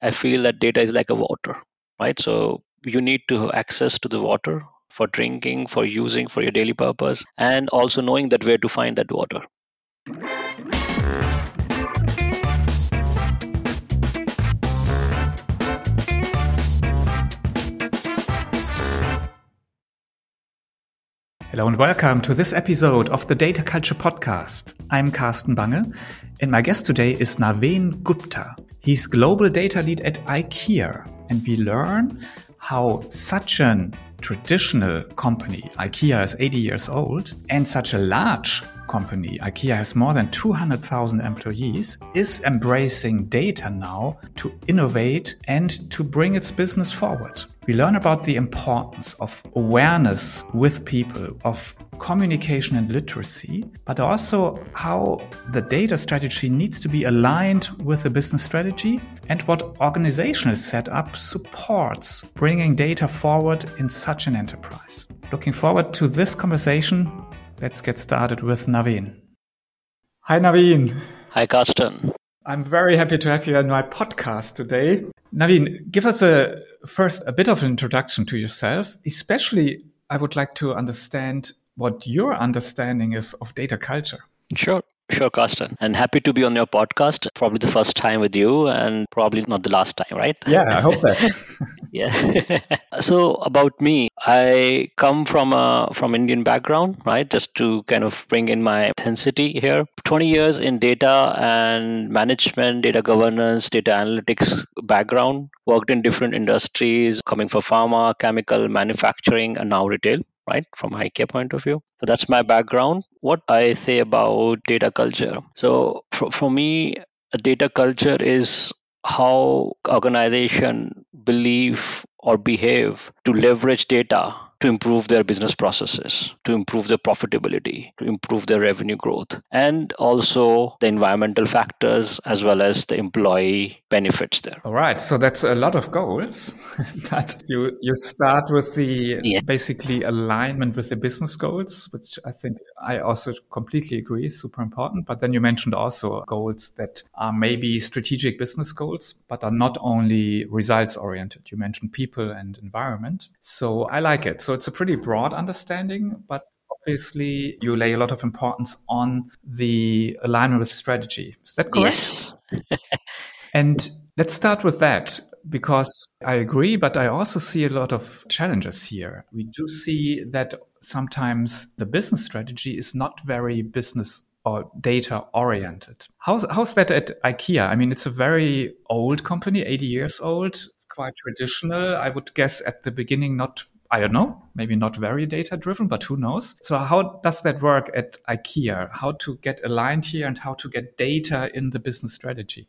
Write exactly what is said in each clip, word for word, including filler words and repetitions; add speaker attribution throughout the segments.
Speaker 1: I feel that data is like a water, right? So you need to have access to the water for drinking, for using, for your daily purpose, and also knowing that where to find that water.
Speaker 2: Hello and welcome to this episode of the Data Culture Podcast. I'm Carsten Bange, and my guest today is Naveen Gupta. He's Global Data Lead at IKEA, and we learn how such a traditional company, IKEA is eighty years old, and such a large company, IKEA has more than two hundred thousand employees, is embracing data now to innovate and to bring its business forward. We learn about the importance of awareness with people, of communication and literacy, but also how the data strategy needs to be aligned with the business strategy and what organizational setup supports bringing data forward in such an enterprise. Looking forward to this conversation. Let's get started with Naveen. Hi, Naveen.
Speaker 1: Hi, Carsten.
Speaker 2: I'm very happy to have you on my podcast today. Naveen, give us a first a bit of an introduction to yourself. Especially, I would like to understand what your understanding is of data culture.
Speaker 1: Sure. Sure, Carsten. And happy to be on your podcast. Probably the first time with you and probably not the last time, right?
Speaker 2: Yeah, I hope that.
Speaker 1: Yeah. So about me, I come from a from Indian background, right? Just to kind of bring in my intensity here. twenty years in data and management, data governance, data analytics background. Worked in different industries, coming from pharma, chemical, manufacturing, and now retail. Right, from IKEA point of view. So that's my background. What I say about data culture. So for, for me, a data culture is how organization believe or behave to leverage data to improve their business processes, to improve their profitability, to improve their revenue growth, and also the environmental factors as well as the employee benefits there.
Speaker 2: All right. So that's a lot of goals, but you, you start with the
Speaker 1: Yeah.
Speaker 2: basically alignment with the business goals, which I think I also completely agree is super important. But then you mentioned also goals that are maybe strategic business goals, but are not only results oriented. You mentioned people and environment. So I like it. So it's a pretty broad understanding, but obviously you lay a lot of importance on the alignment with strategy. Is that correct?
Speaker 1: Yes.
Speaker 2: And let's start with that, because I agree, but I also see a lot of challenges here. We do see that sometimes the business strategy is not very business or data oriented. How's, how's that at IKEA? I mean, it's a very old company, eighty years old. It's quite traditional. I would guess at the beginning, not I don't know, maybe not very data driven, but who knows? So how does that work at IKEA? How to get aligned here and how to get data in the business strategy?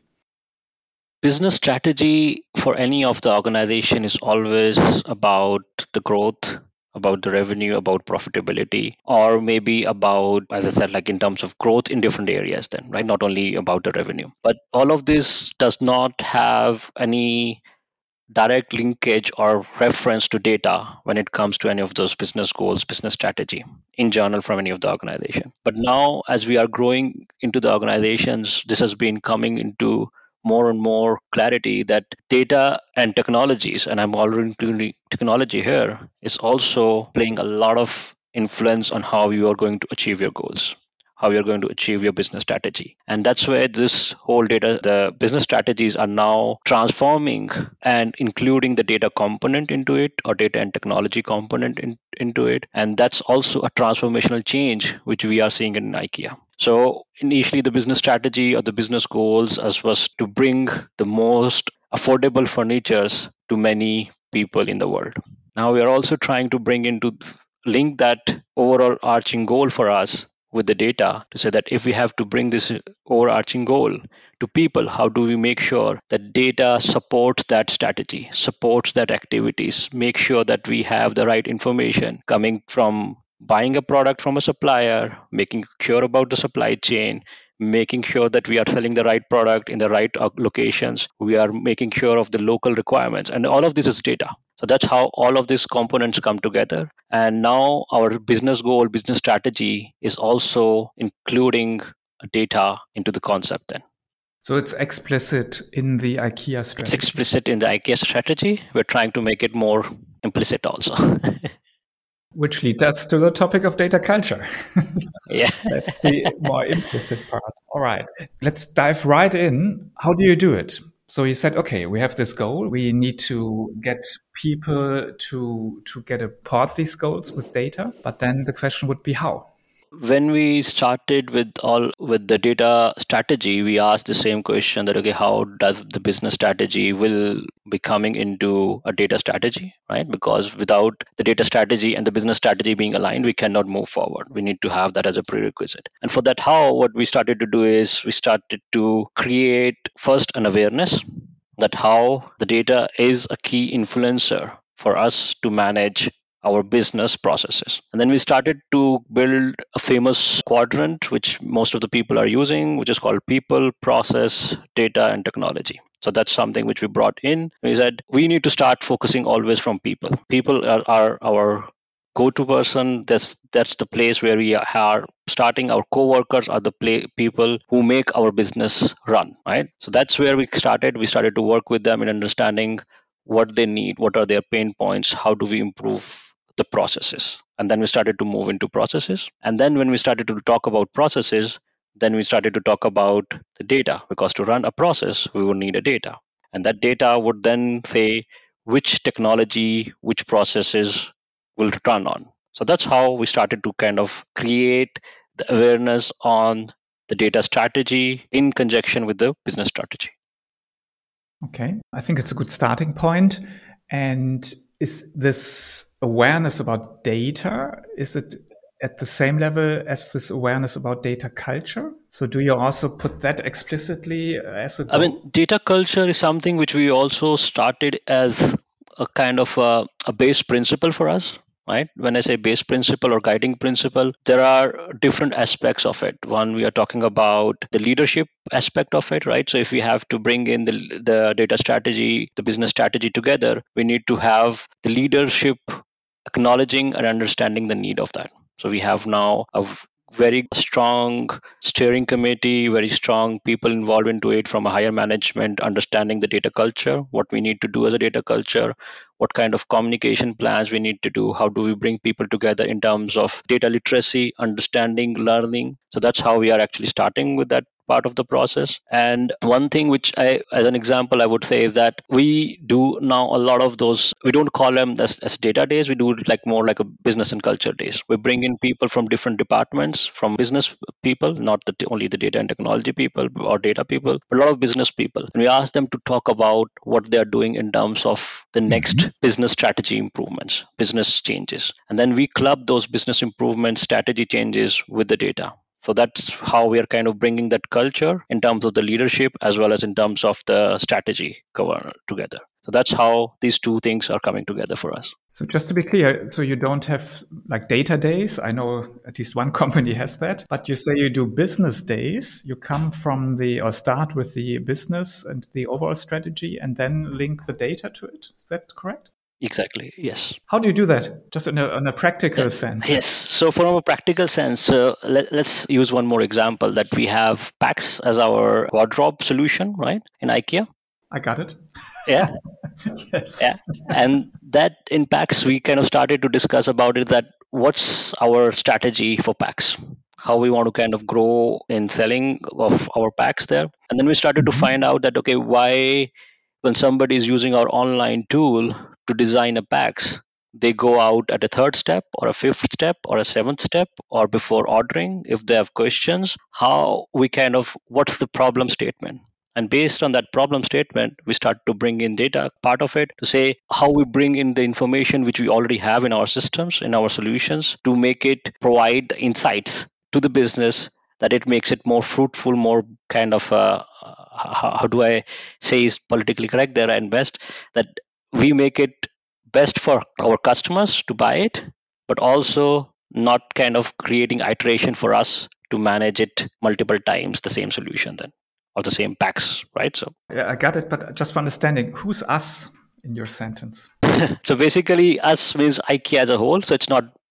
Speaker 1: Business strategy for any of the organization is always about the growth, about the revenue, about profitability, or maybe about, as I said, like in terms of growth in different areas then, right? Not only about the revenue. But all of this does not have any direct linkage or reference to data when it comes to any of those business goals, business strategy in general from any of the organization. But now as we are growing into the organizations, this has been coming into more and more clarity that data and technologies, and I'm already including technology here, is also playing a lot of influence on how you are going to achieve your goals, how you're going to achieve your business strategy. And that's where this whole data, the business strategies are now transforming and including the data component into it, or data and technology component in, into it. And that's also a transformational change which we are seeing in IKEA. So initially the business strategy or the business goals as was to bring the most affordable furnitures to many people in the world. Now we are also trying to bring into link that overall arching goal for us with the data to say that if we have to bring this overarching goal to people, how do we make sure that data supports that strategy, supports that activities, make sure that we have the right information coming from buying a product from a supplier, making sure about the supply chain, making sure that we are selling the right product in the right locations, we are making sure of the local requirements, and all of this is data. So that's how all of these components come together. And now our business goal, business strategy is also including data into the concept then.
Speaker 2: So it's explicit in the IKEA strategy.
Speaker 1: It's explicit in the IKEA strategy. We're trying to make it more implicit also.
Speaker 2: Which leads us to the topic of data culture.
Speaker 1: Yeah.
Speaker 2: That's the more implicit part. All right. Let's dive right in. How do you do it? So you said, okay, we have this goal. We need to get people to to get report these goals with data. But then the question would be how?
Speaker 1: When we started with all with the data strategy, we asked the same question that okay, how does the business strategy will be coming into a data strategy, right? Because without the data strategy and the business strategy being aligned, we cannot move forward. We need to have that as a prerequisite. And for that, how what we started to do is we started to create first an awareness that how the data is a key influencer for us to manage our business processes. And then we started to build a famous quadrant, which most of the people are using, which is called people, process, data, and technology. So that's something which we brought in. We said we need to start focusing always from people. People are, are our go-to person. That's that's the place where we are starting. Our co-workers are the play, people who make our business run, right? So that's where we started. We started to work with them in understanding what they need, what are their pain points, how do we improve the processes. And then we started to move into processes. And then when we started to talk about processes, then we started to talk about the data, because to run a process, we would need a data. And that data would then say which technology, which processes will run on. So that's how we started to kind of create the awareness on the data strategy in conjunction with the business strategy.
Speaker 2: Okay, I think it's a good starting point. And is this awareness about data, is it at the same level as this awareness about data culture? So do you also put that explicitly as a goal?
Speaker 1: I mean, data culture is something which we also started as a kind of a, a base principle for us. Right? When I say base principle or guiding principle, there are different aspects of it. One, we are talking about the leadership aspect of it, right? So if we have to bring in the, the data strategy, the business strategy together, we need to have the leadership acknowledging and understanding the need of that. So we have now a very strong steering committee, very strong people involved into it from a higher management, understanding the data culture, what we need to do as a data culture, what kind of communication plans we need to do, how do we bring people together in terms of data literacy, understanding, learning. So that's how we are actually starting with that part of the process. And one thing which I, as an example, I would say is that we do now a lot of those, we don't call them as, as data days, we do it like more like a business and culture days. We bring in people from different departments, from business people, not the, only the data and technology people or data people, but a lot of business people. And we ask them to talk about what they're doing in terms of the next mm-hmm. business strategy improvements, business changes. And then we club those business improvements, strategy changes with the data. So that's how we are kind of bringing that culture in terms of the leadership as well as in terms of the strategy cover together. So that's how these two things are coming together for us.
Speaker 2: So just to be clear, so you don't have like data days. I know at least one company has that, but you say you do business days. You come from the, or start with the business and the overall strategy and then link the data to it. Is that correct?
Speaker 1: Exactly. Yes.
Speaker 2: How do you do that? Just in a, in a practical
Speaker 1: yeah.
Speaker 2: sense.
Speaker 1: Yes. So from a practical sense, uh, let, let's use one more example that we have PAX as our wardrobe solution, right? In IKEA.
Speaker 2: I got it.
Speaker 1: Yeah.
Speaker 2: Yes.
Speaker 1: Yeah. And that in PAX, we kind of started to discuss about it, that what's our strategy for PAX? How we want to kind of grow in selling of our PAX there. And then we started mm-hmm. to find out that, okay, why when somebody is using our online tool to design a PAX, they go out at a third step or a fifth step or a seventh step or before ordering. If they have questions, how we kind of, what's the problem statement? And based on that problem statement, we start to bring in data part of it to say how we bring in the information which we already have in our systems, in our solutions, to make it provide the insights to the business that it makes it more fruitful, more kind of, uh, how, how do I say is politically correct there and best, that we make it best for our customers to buy it, but also not kind of creating iteration for us to manage it multiple times, the same solution then, or the same PAX, right? So
Speaker 2: yeah, I got it, but just for understanding, who's us in your sentence?
Speaker 1: So basically us means IKEA as a whole. So it's not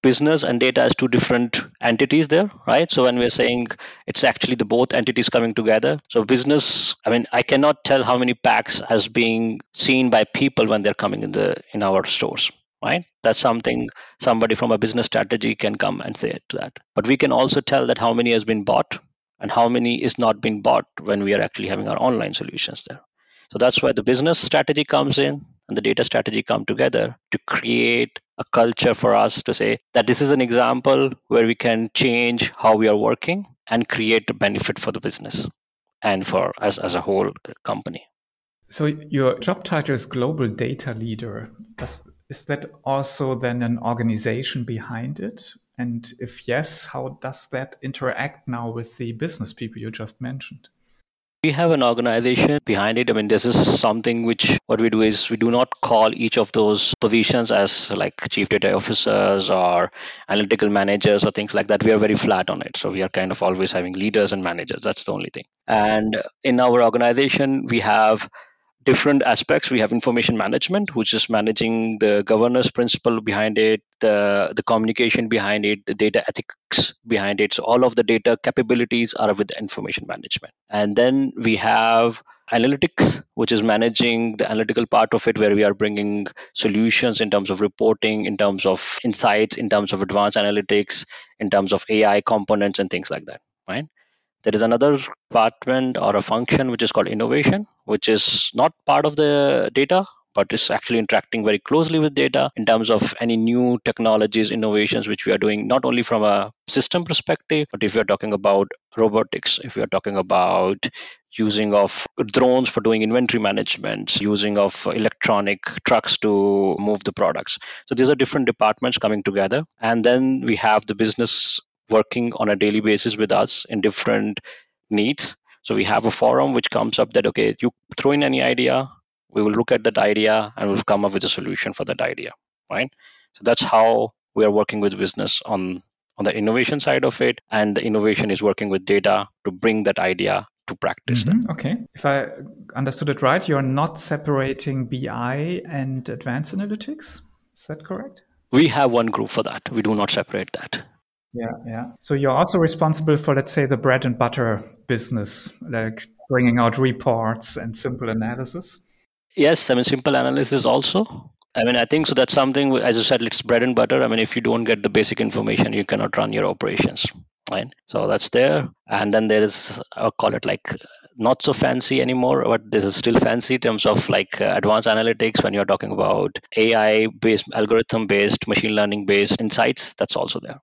Speaker 1: business and data as two different entities there, right? So when we're saying it's actually the both entities coming together. So business, I mean, I cannot tell how many packs as being seen by people when they're coming in the in our stores, right? That's something somebody from a business strategy can come and say to that. But we can also tell that how many has been bought and how many is not being bought when we are actually having our online solutions there. So that's why the business strategy comes in and the data strategy come together to create a culture for us to say that this is an example where we can change how we are working and create a benefit for the business and for us as a whole company.
Speaker 2: So your job title is Global Data Leader. Does, is that also then an organization behind it? And if yes, how does that interact now with the business people you just mentioned?
Speaker 1: We have an organization behind it. I mean, this is something which what we do is we do not call each of those positions as like chief data officers or analytical managers or things like that. We are very flat on it. So we are kind of always having leaders and managers. That's the only thing. And in our organization, we have different aspects. We have information management, which is managing the governance principle behind it, the the communication behind it, the data ethics behind it. So all of the data capabilities are with the information management. And then we have analytics, which is managing the analytical part of it, where we are bringing solutions in terms of reporting, in terms of insights, in terms of advanced analytics, in terms of A I components and things like that, right? There is another department or a function which is called innovation, which is not part of the data, but is actually interacting very closely with data in terms of any new technologies, innovations, which we are doing, not only from a system perspective, but if we are talking about robotics, if we are talking about using of drones for doing inventory management, using of electronic trucks to move the products. So these are different departments coming together. And then we have the business working on a daily basis with us in different needs. So we have a forum which comes up that, okay, you throw in any idea, we will look at that idea and we'll come up with a solution for that idea, right? So that's how we are working with business on, on the innovation side of it. And the innovation is working with data to bring that idea to practice.
Speaker 2: Mm-hmm. Okay. If I understood it right, you're not separating B I and advanced analytics. Is that correct?
Speaker 1: We have one group for that. We do not separate that.
Speaker 2: Yeah, yeah. So you're also responsible for, let's say, the bread and butter business, like bringing out reports and simple analysis.
Speaker 1: Yes, I mean, simple analysis also. I mean, I think so. That's something, as you said, it's bread and butter. I mean, if you don't get the basic information, you cannot run your operations, right? So that's there. And then there is, I'll call it like not so fancy anymore, but this is still fancy in terms of like uh, advanced analytics when you're talking about A I based, algorithm based, machine learning based insights. That's also there.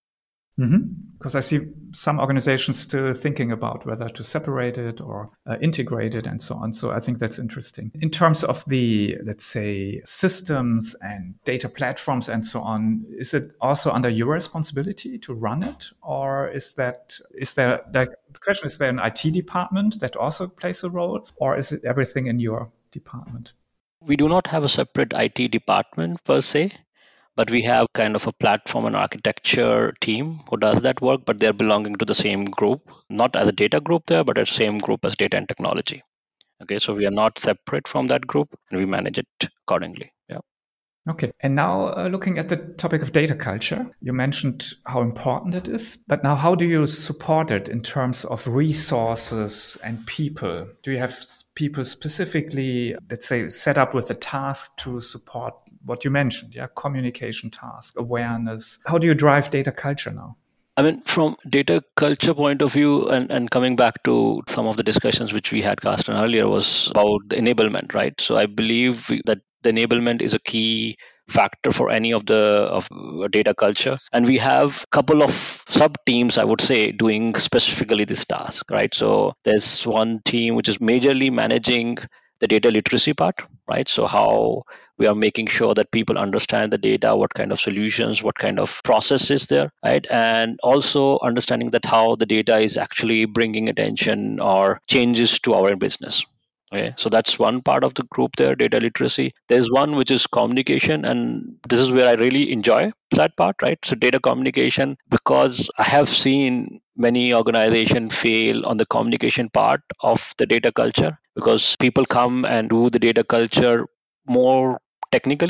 Speaker 2: Because mm-hmm. I see some organizations still thinking about whether to separate it or uh, integrate it and so on. So I think that's interesting. In terms of the, let's say, systems and data platforms and so on, is it also under your responsibility to run it? Or is that, is there, like, the question is there an I T department that also plays a role? Or is it everything in your department?
Speaker 1: We do not have a separate I T department per se. But we have kind of a platform and architecture team who does that work, but they're belonging to the same group, not as a data group there, but as the same group as data and technology. Okay, so we are not separate from that group and we manage it accordingly. Yeah.
Speaker 2: Okay. And now uh, looking at the topic of data culture, you mentioned how important it is, but now how do you support it in terms of resources and people? Do you have people specifically, let's say, set up with a task to support what you mentioned, yeah, communication task, awareness? How do you drive data culture now?
Speaker 1: I mean, from data culture point of view, and, and coming back to some of the discussions which we had, Carsten, earlier, was about the enablement, right? So I believe that the enablement is a key factor for any of the of data culture, and we have a couple of sub teams, I would say, doing specifically this task, right? So there's one team which is majorly managing the data literacy part, right? So how we are making sure that people understand the data, what kind of solutions, what kind of process is there, right? And also understanding that how the data is actually bringing attention or changes to our business. Okay, so that's one part of the group there, data literacy. There's one which is communication, and this is where I really enjoy that part, right? So data communication, because I have seen many organizations fail on the communication part of the data culture, because people come and do the data culture more technically,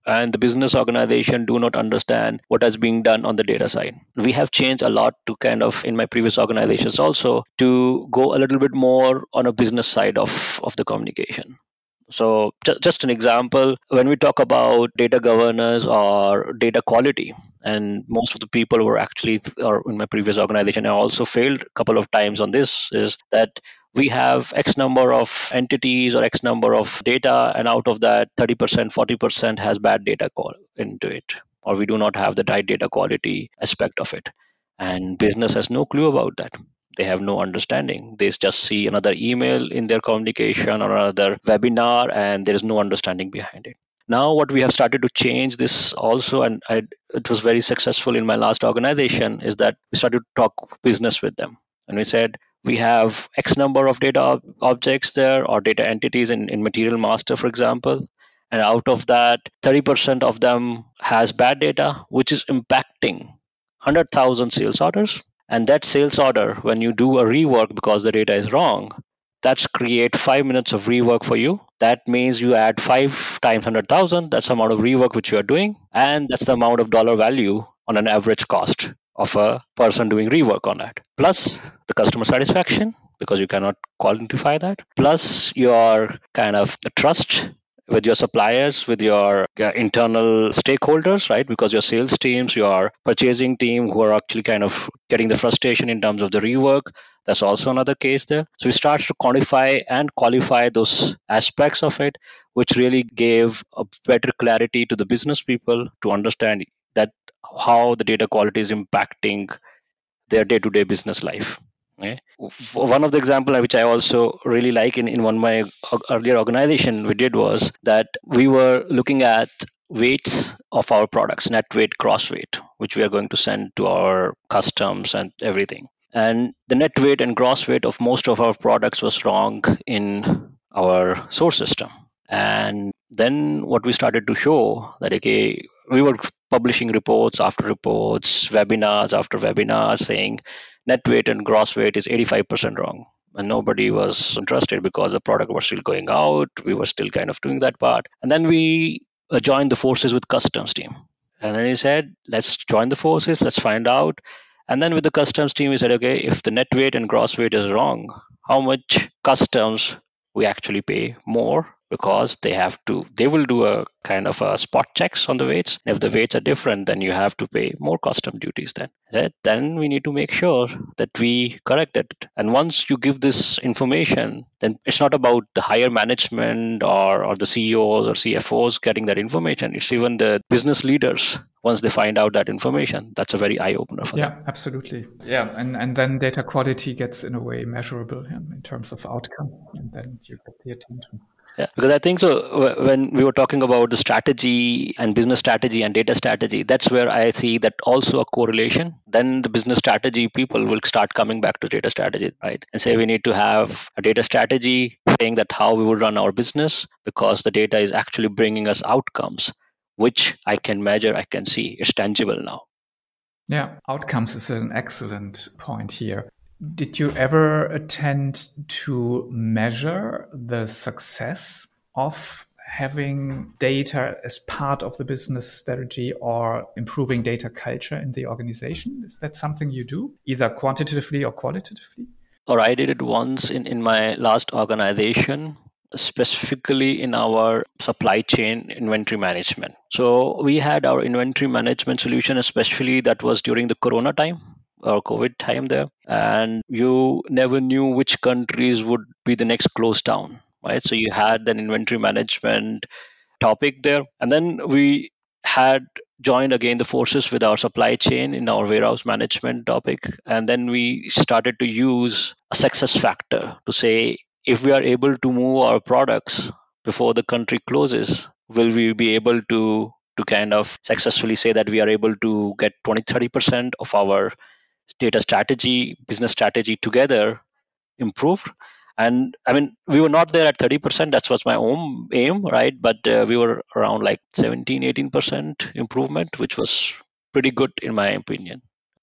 Speaker 1: and the business organization do not understand what is being done on the data side. We have changed a lot to kind of, in my previous organizations also, to go a little bit more on a business side of, of the communication. So, ju- just an example, when we talk about data governance or data quality, and most of the people who are actually, or in my previous organization, I also failed a couple of times on this, is that we have X number of entities or X number of data, and out of that, thirty percent, forty percent has bad data call into it, or we do not have the right data quality aspect of it. And business has no clue about that. They have no understanding. They just see another email in their communication or another webinar, and there is no understanding behind it. Now, what we have started to change this also, and I, it was very successful in my last organization, is that we started to talk business with them. And we said, we have X number of data ob- objects there or data entities in, in Material Master, for example. And out of that, thirty percent of them has bad data, which is impacting one hundred thousand sales orders. And that sales order, when you do a rework because the data is wrong, that's create five minutes of rework for you. That means you add five times one hundred thousand. That's the amount of rework which you are doing. And that's the amount of dollar value on an average cost of a person doing rework on that. Plus the customer satisfaction, because you cannot quantify that. Plus your kind of trust with your suppliers, with your uh, internal stakeholders, right? Because your sales teams, your purchasing team, who are actually kind of getting the frustration in terms of the rework, that's also another case there. So we start to quantify and qualify those aspects of it, which really gave a better clarity to the business people to understand that how the data quality is impacting their day-to-day business life. Okay. One of the example which I also really like in, in one of my earlier organization we did was that we were looking at weights of our products, net weight, gross weight, which we are going to send to our customs and everything. And the net weight and gross weight of most of our products was wrong in our source system. And then what we started to show that, okay, we were publishing reports after reports, webinars after webinars saying net weight and gross weight is eighty-five percent wrong. And nobody was interested because the product was still going out. We were still kind of doing that part. And then we uh, joined the forces with customs team. And then he said, let's join the forces, let's find out. And then with the customs team, we said, okay, if the net weight and gross weight is wrong, how much customs we actually pay more, because they have to they will do a kind of a spot checks on the weights. If the weights are different, then you have to pay more custom duties. Then Right? Then we need to make sure that we correct it. And once you give this information, then it's not about the higher management or, or the C E Os or C F Os getting that information. It's even the business leaders. Once they find out that information, that's a very eye opener for
Speaker 2: Yeah,
Speaker 1: them.
Speaker 2: absolutely. Yeah, and, and then data quality gets in a way measurable, yeah, in terms of outcome, and then you get the attention.
Speaker 1: Yeah, because I think so. wh- When we were talking about the strategy and business strategy and data strategy, that's where I see that also a correlation. Then the business strategy people will start coming back to data strategy, right? And say we need to have a data strategy saying that how we will run our business, because the data is actually bringing us outcomes, which I can measure, I can see. It's tangible now.
Speaker 2: Yeah, outcomes is an excellent point here. Did you ever attempt to measure the success of having data as part of the business strategy or improving data culture in the organization? Is that something you do, either quantitatively or qualitatively?
Speaker 1: Or I did it once in, in my last organization, specifically in our supply chain inventory management. So we had our inventory management solution, especially that was during the Corona time or COVID time there. And you never knew which countries would be the next closed down, right? So you had an inventory management topic there. And then we had joined again the forces with our supply chain in our warehouse management topic. And then we started to use a success factor to say, if we are able to move our products before the country closes, will we be able to to kind of successfully say that we are able to get twenty thirty percent of our data strategy, business strategy together improved. And I mean, we were not there at thirty percent. That was my own aim, right? But uh, we were around like seventeen, eighteen percent improvement, which was pretty good in my opinion.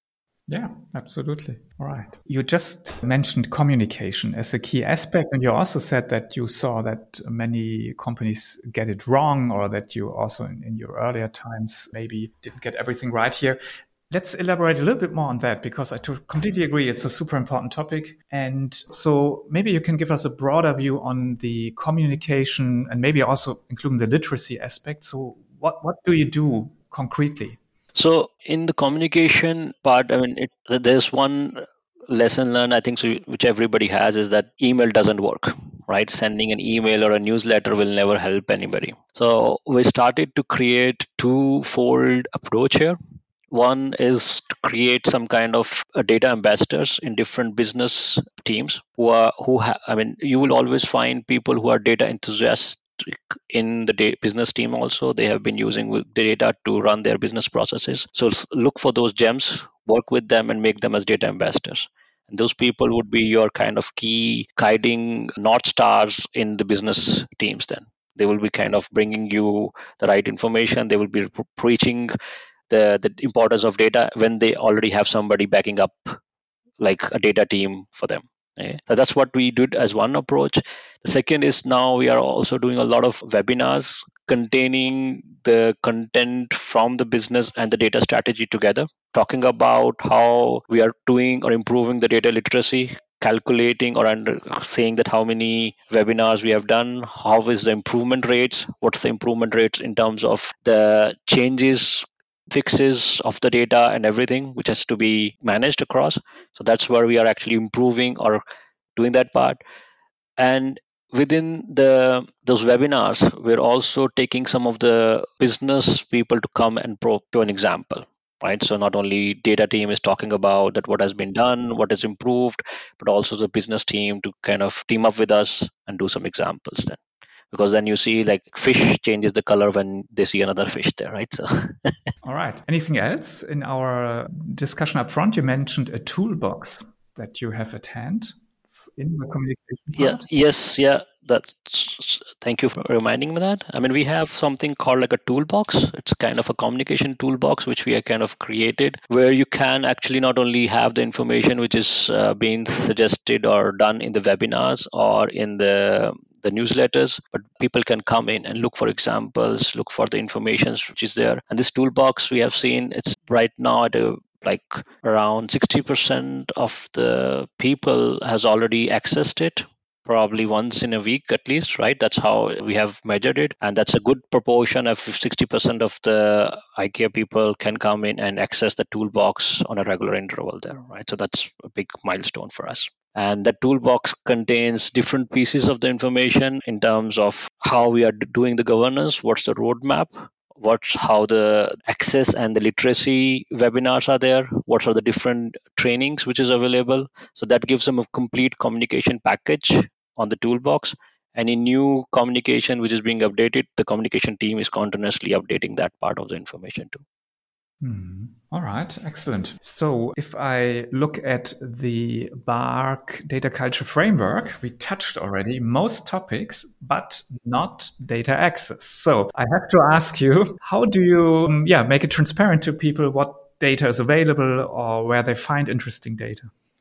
Speaker 2: Yeah, absolutely. All right. You just mentioned communication as a key aspect, and you also said that you saw that many companies get it wrong, or that you also in, in your earlier times maybe didn't get everything right here. Let's elaborate a little bit more on that because I to- completely agree. It's a super important topic. And so maybe you can give us a broader view on the communication and maybe also including the literacy aspect. So what, what do you do concretely?
Speaker 1: So in the communication part, I mean, it, there's one lesson learned, I think, so, which everybody has is that email doesn't work, right? Sending an email or a newsletter will never help anybody. So we started to create two-fold approach here. One is to create some kind of uh, data ambassadors in different business teams who are who ha- I mean, you will always find people who are data enthusiasts in the da- business team. Also, they have been using the data to run their business processes. So look for those gems, work with them, and make them as data ambassadors. And those people would be your kind of key guiding north stars in the business teams. Then they will be kind of bringing you the right information. They will be preaching the the importance of data when they already have somebody backing up, like a data team for them. Okay? So that's what we did as one approach. The second is now we are also doing a lot of webinars containing the content from the business and the data strategy together, talking about how we are doing or improving the data literacy, calculating or under saying that how many webinars we have done, how is the improvement rates, what's the improvement rates in terms of the changes, fixes of the data and everything which has to be managed across. So that's where we are actually improving or doing that part. And within the those webinars, we're also taking some of the business people to come and pro to an example, right? So not only data team is talking about that what has been done, what is improved, but also the business team to kind of team up with us and do some examples then, because then you see like fish changes the color when they see another fish there, right? So
Speaker 2: All right. Anything else in our discussion up front? You mentioned a toolbox that you have at hand in the communication
Speaker 1: Yeah,
Speaker 2: part.
Speaker 1: yes, yeah. That's Thank you for reminding me that. I mean, we have something called like a toolbox. It's kind of a communication toolbox which we are kind of created, where you can actually not only have the information which is uh, being suggested or done in the webinars or in the the newsletters, but people can come in and look for examples, look for the information which is there. And this toolbox we have seen, it's right now at a like around sixty percent of the people has already accessed it, probably once in a week at least, right? That's how we have measured it, and that's a good proportion of sixty percent of the IKEA people can come in and access the toolbox on a regular interval there, right? So that's a big milestone for us. And the toolbox contains different pieces of the information in terms of how we are doing the governance, what's the roadmap, what's how the access and the literacy webinars are there, what are the different trainings which is available. So that gives them a complete communication package on the toolbox. Any new communication which is being updated, the communication team is continuously updating that part of the information too.
Speaker 2: Hmm. All right, excellent. So if I look at the B A R C data culture framework, we touched already most topics, but not data access. So I have to ask you, how do you, um, yeah, make it transparent to people what data is available or where they find interesting data?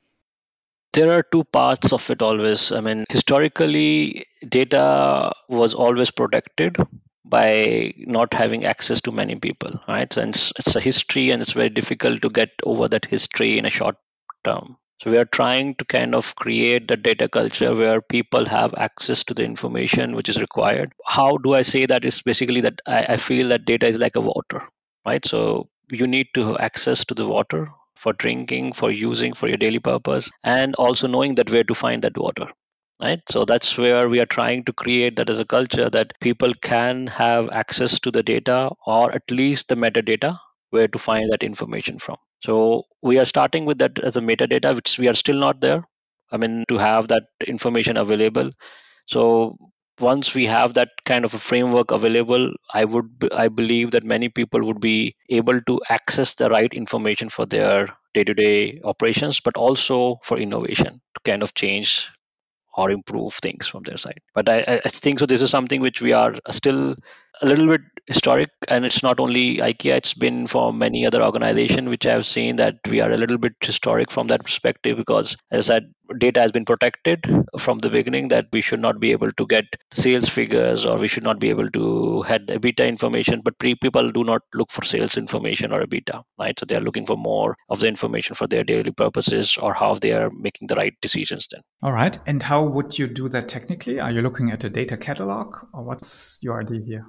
Speaker 1: There are two parts of it always. I mean, historically, data was always protected by not having access to many people, right? So it's, it's a history and it's very difficult to get over that history in a short term. So we are trying to kind of create the data culture where people have access to the information which is required. How do I say that? Is basically that I, I feel that data is like a water, right? So you need to have access to the water for drinking, for using, for your daily purpose, and also knowing that where to find that water. Right. So that's where we are trying to create that as a culture that people can have access to the data or at least the metadata where to find that information from. So we are starting with that as a metadata, which we are still not there. I mean, to have that information available. So once we have that kind of a framework available, I would b- I believe that many people would be able to access the right information for their day-to-day operations, but also for innovation to kind of change or improve things from their side. But I, I I think so. This is something which we are still a little bit historic, and it's not only IKEA, it's been for many other organizations which I've seen that we are a little bit historic from that perspective, because as I said, data has been protected from the beginning, that we should not be able to get sales figures, or we should not be able to had EBITDA information. But pre- people do not look for sales information or EBITDA, right? So they are looking for more of the information for their daily purposes, or how they are making the right decisions then.
Speaker 2: All right. And how would you do that technically? Are you looking at a data catalog, or what's your idea here?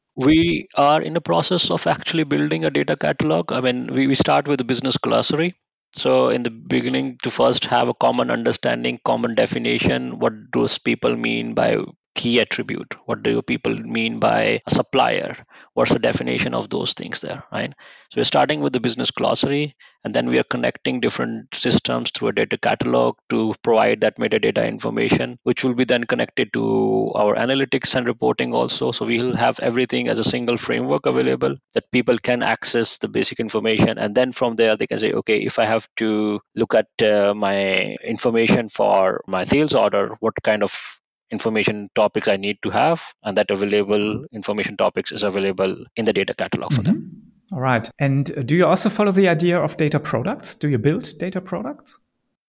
Speaker 1: We are in the process of actually building a data catalog. I mean, we, we start with a business glossary. So in the beginning, to first have a common understanding, common definition, what those people mean by key attribute? What do people mean by a supplier? What's the definition of those things there, right? So we're starting with the business glossary, and then we are connecting different systems through a data catalog to provide that metadata information, which will be then connected to our analytics and reporting also. So we'll have everything as a single framework available that people can access the basic information, and then from there they can say, okay, if I have to look at uh, my information for my sales order, what kind of information topics I need to have, and that available information topics is available in the data catalog for them.
Speaker 2: Mm-hmm. All right. And uh, do you also follow the idea of data products? Do you build data products?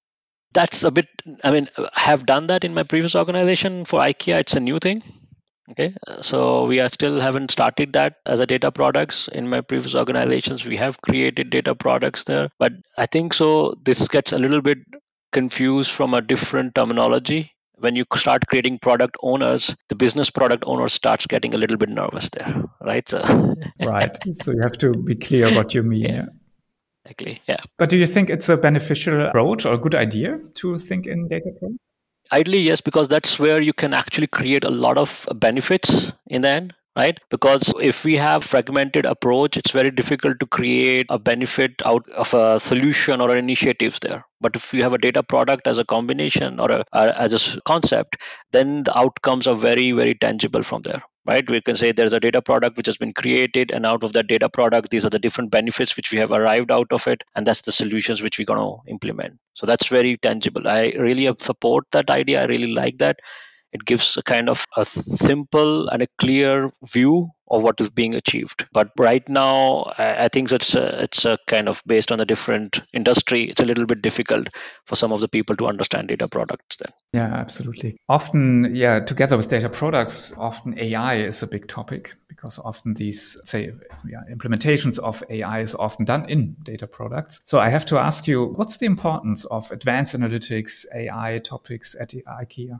Speaker 1: That's a bit, I mean, I have done that in my previous organization. For IKEA, it's a new thing. Okay, so we are still haven't started that as a data products. In my previous organizations, we have created data products there, but I think so this gets a little bit confused from a different terminology. When you start creating product owners, the business product owner starts getting a little bit nervous there, right? So
Speaker 2: right. So you have to be clear what you mean.
Speaker 1: Yeah.
Speaker 2: Yeah.
Speaker 1: Exactly. Yeah.
Speaker 2: But do you think it's a beneficial approach or a good idea to think in data products?
Speaker 1: Ideally, yes, because that's where you can actually create a lot of benefits in the end, right? Because if we have fragmented approach, it's very difficult to create a benefit out of a solution or initiatives there. But if you have a data product as a combination or a, uh, as a s- concept, then the outcomes are very, very tangible from there, right? We can say there's a data product which has been created, and out of that data product, these are the different benefits which we have arrived out of it, and that's the solutions which we're going to implement. So that's very tangible. I really support that idea. I really like that. It gives a kind of a simple and a clear view of what is being achieved. But right now, I I think it's a, it's a kind of based on a different industry. It's a little bit difficult for some of the people to understand data products then.
Speaker 2: Yeah, absolutely. Often, yeah, together with data products, often A I is a big topic, because often these, say, yeah, implementations of A I is often done in data products. So I have to ask you, what's the importance of advanced analytics, A I topics at IKEA?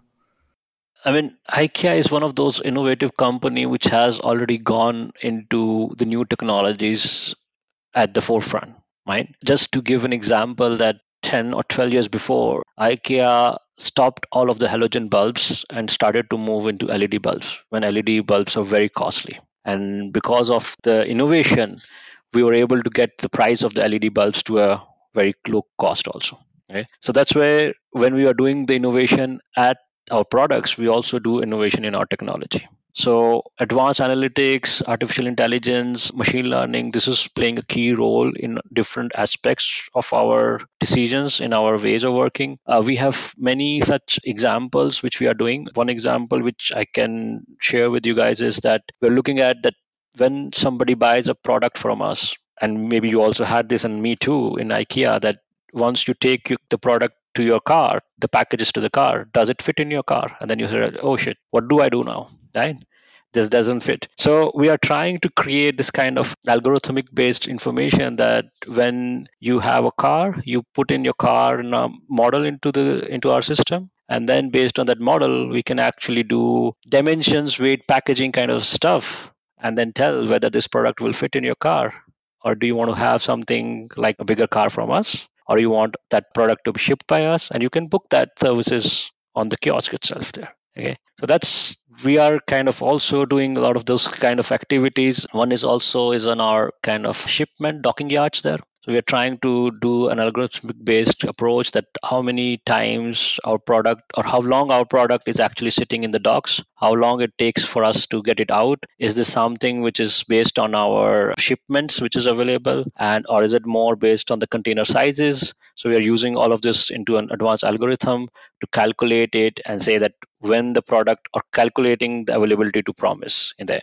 Speaker 1: I mean, IKEA is one of those innovative company which has already gone into the new technologies at the forefront, right? Just to give an example, that ten or twelve years before, IKEA stopped all of the halogen bulbs and started to move into L E D bulbs when L E D bulbs are very costly. And because of the innovation, we were able to get the price of the L E D bulbs to a very low cost also. Okay? So that's where when we are doing the innovation at our products, we also do innovation in our technology. So advanced analytics, artificial intelligence, machine learning, this is playing a key role in different aspects of our decisions, in our ways of working. Uh, we have many such examples which we are doing. One example which I can share with you guys is that we're looking at that when somebody buys a product from us, and maybe you also had this, and me too, in IKEA, that once you take you- the product to your car, the packages to the car, does it fit in your car? And then you say, oh shit, what do I do now? Right? This doesn't fit. So we are trying to create this kind of algorithmic based information that when you have a car, you put in your car and a model into the into our system, and then based on that model, we can actually do dimensions, weight, packaging kind of stuff, and then tell whether this product will fit in your car, or do you want to have something like a bigger car from us, or you want that product to be shipped by us, and you can book that services on the kiosk itself there. Okay, so that's, we are kind of also doing a lot of those kind of activities. One is also is on our kind of shipment docking yards there. So we are trying to do an algorithmic based approach, that how many times our product, or how long our product is actually sitting in the docks, how long it takes for us to get it out. Is this something which is based on our shipments which is available, and or is it more based on the container sizes? So we are using all of this into an advanced algorithm to calculate it and say that when the product, or calculating the availability to promise in the end.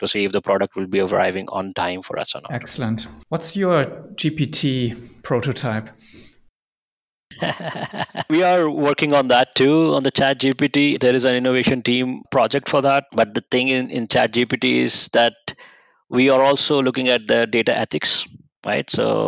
Speaker 1: to see if the product will be arriving on time for us or not.
Speaker 2: Excellent. What's your G P T prototype?
Speaker 1: We are working on that too, on the Chat G P T. There is an innovation team project for that. But the thing in, in Chat G P T is that we are also looking at the data ethics, right?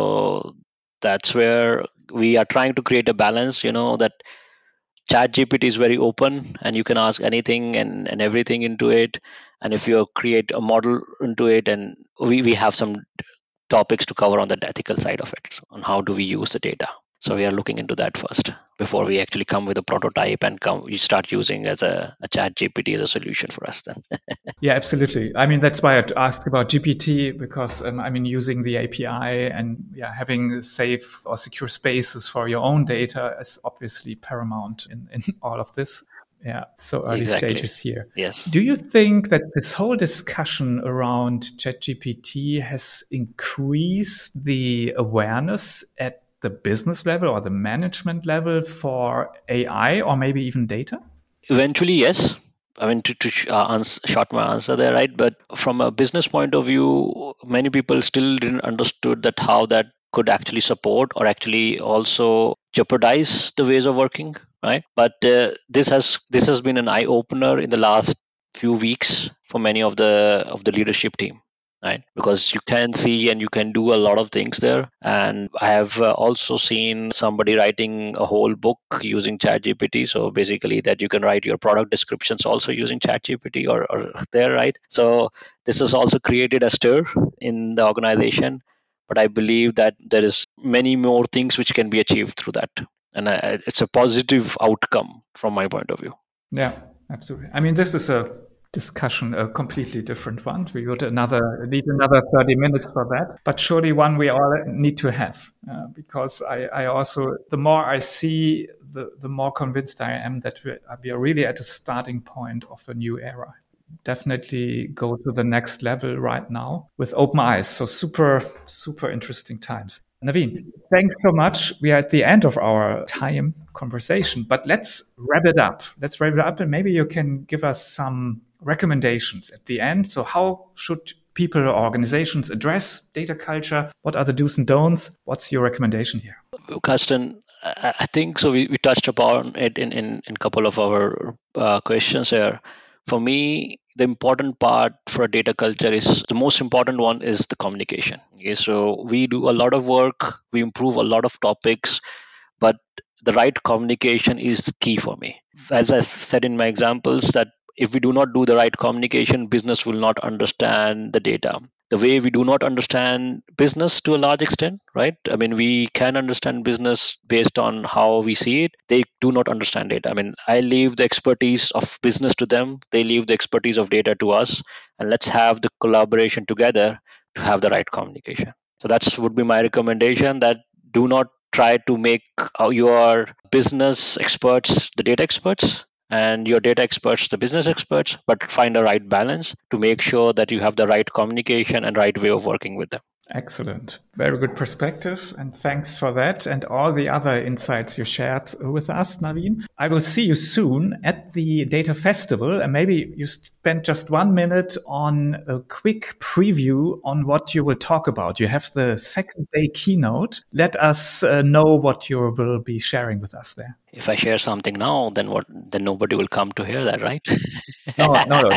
Speaker 1: So that's where we are trying to create a balance, you know, that Chat G P T is very open and you can ask anything and, and everything into it. And if you create a model into it, and we, we have some topics to cover on the ethical side of it, on how do we use the data. So we are looking into that first before we actually come with a prototype and come we start using as a, a Chat G P T as a solution for us then.
Speaker 2: Yeah, absolutely. I mean, that's why I asked about G P T, because um, I mean, using the A P I and yeah, having safe or secure spaces for your own data is obviously paramount in, in all of this. Yeah, so early
Speaker 1: Exactly.
Speaker 2: stages here.
Speaker 1: Yes.
Speaker 2: Do you think that this whole discussion around ChatGPT has increased the awareness at the business level or the management level for A I or maybe even data?
Speaker 1: Eventually, yes. I mean, to, to uh, answer, short my answer there, right? But from a business point of view, many people still didn't understood that how that could actually support or actually also jeopardize the ways of working, right? But uh, this has this has been an eye opener in the last few weeks for many of the of the leadership team, right? Because you can see and you can do a lot of things there. And I have uh, also seen somebody writing a whole book using ChatGPT. So basically, that you can write your product descriptions also using ChatGPT or, or there, right? So this has also created a stir in the organization. But I believe that there is many more things which can be achieved through that, and I, it's a positive outcome from my point of view.
Speaker 2: Yeah, absolutely. I mean, this is a discussion, a completely different one. We would another need another thirty minutes for that, but surely one we all need to have, uh, because I, I also, the more I see, the, the more convinced I am that we, we are really at a starting point of a new era. Definitely go to the next level right now with open eyes. So super, super interesting times. Naveen, thanks so much. We are at the end of our time conversation, but let's wrap it up. Let's wrap it up, and maybe you can give us some recommendations at the end. So how should people or organizations address data culture? What are the do's and don'ts? What's your recommendation here?
Speaker 1: Carsten, I think so. We, we touched upon it in in in a couple of our uh, questions here. For me, the important part for a data culture is the most important one is the communication. Okay, so we do a lot of work, we improve a lot of topics, but the right communication is key for me. As I said in my examples, that if we do not do the right communication, business will not understand the data the way we do not understand business to a large extent, right? I mean, we can understand business based on how we see it. They do not understand it. I mean, I leave the expertise of business to them. They leave the expertise of data to us. And let's have the collaboration together to have the right communication. So that's would be my recommendation, that do not try to make your business experts the data experts and your data experts the business experts, but find a right balance to make sure that you have the right communication and right way of working with them.
Speaker 2: Excellent. Very good perspective. And thanks for that and all the other insights you shared with us, Naveen. I will see you soon at the Data Festival. And maybe you spend just one minute on a quick preview on what you will talk about. You have the second day keynote. Let us uh, know what you will be sharing with us there.
Speaker 1: If I share something now, then what? Then nobody will come to hear that, right?
Speaker 2: no, no, no.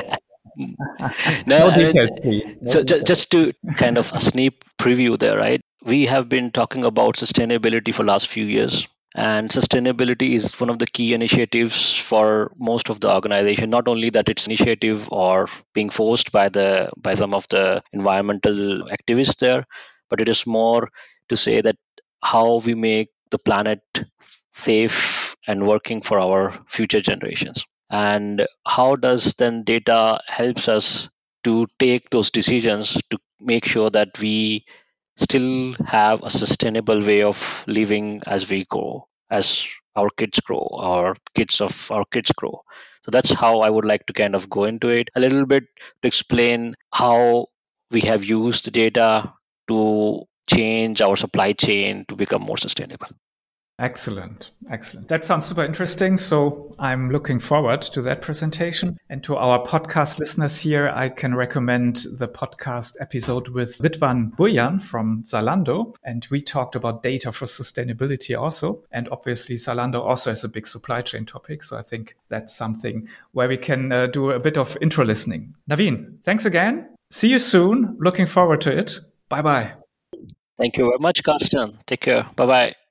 Speaker 1: no,
Speaker 2: no
Speaker 1: I
Speaker 2: details,
Speaker 1: mean,
Speaker 2: please. No
Speaker 1: so
Speaker 2: details.
Speaker 1: Ju- just to kind of a sneak preview there, right? We have been talking about sustainability for last few years, and sustainability is one of the key initiatives for most of the organization. Not only that it's initiative or being forced by the by some of the environmental activists there, but it is more to say that how we make the planet safe and working for our future generations. And how does then data helps us to take those decisions to make sure that we still have a sustainable way of living as we grow, as our kids grow, or kids of our kids grow. So that's how I would like to kind of go into it a little bit, to explain how we have used the data to change our supply chain to become more sustainable.
Speaker 2: Excellent. Excellent. That sounds super interesting. So I'm looking forward to that presentation. And to our podcast listeners here, I can recommend the podcast episode with Ridwan Burjan from Zalando. And we talked about data for sustainability also. And obviously Zalando also has a big supply chain topic. So I think that's something where we can uh, do a bit of intro listening. Naveen, thanks again. See you soon. Looking forward to it. Bye bye.
Speaker 1: Thank you very much, Carsten. Take care. Bye bye.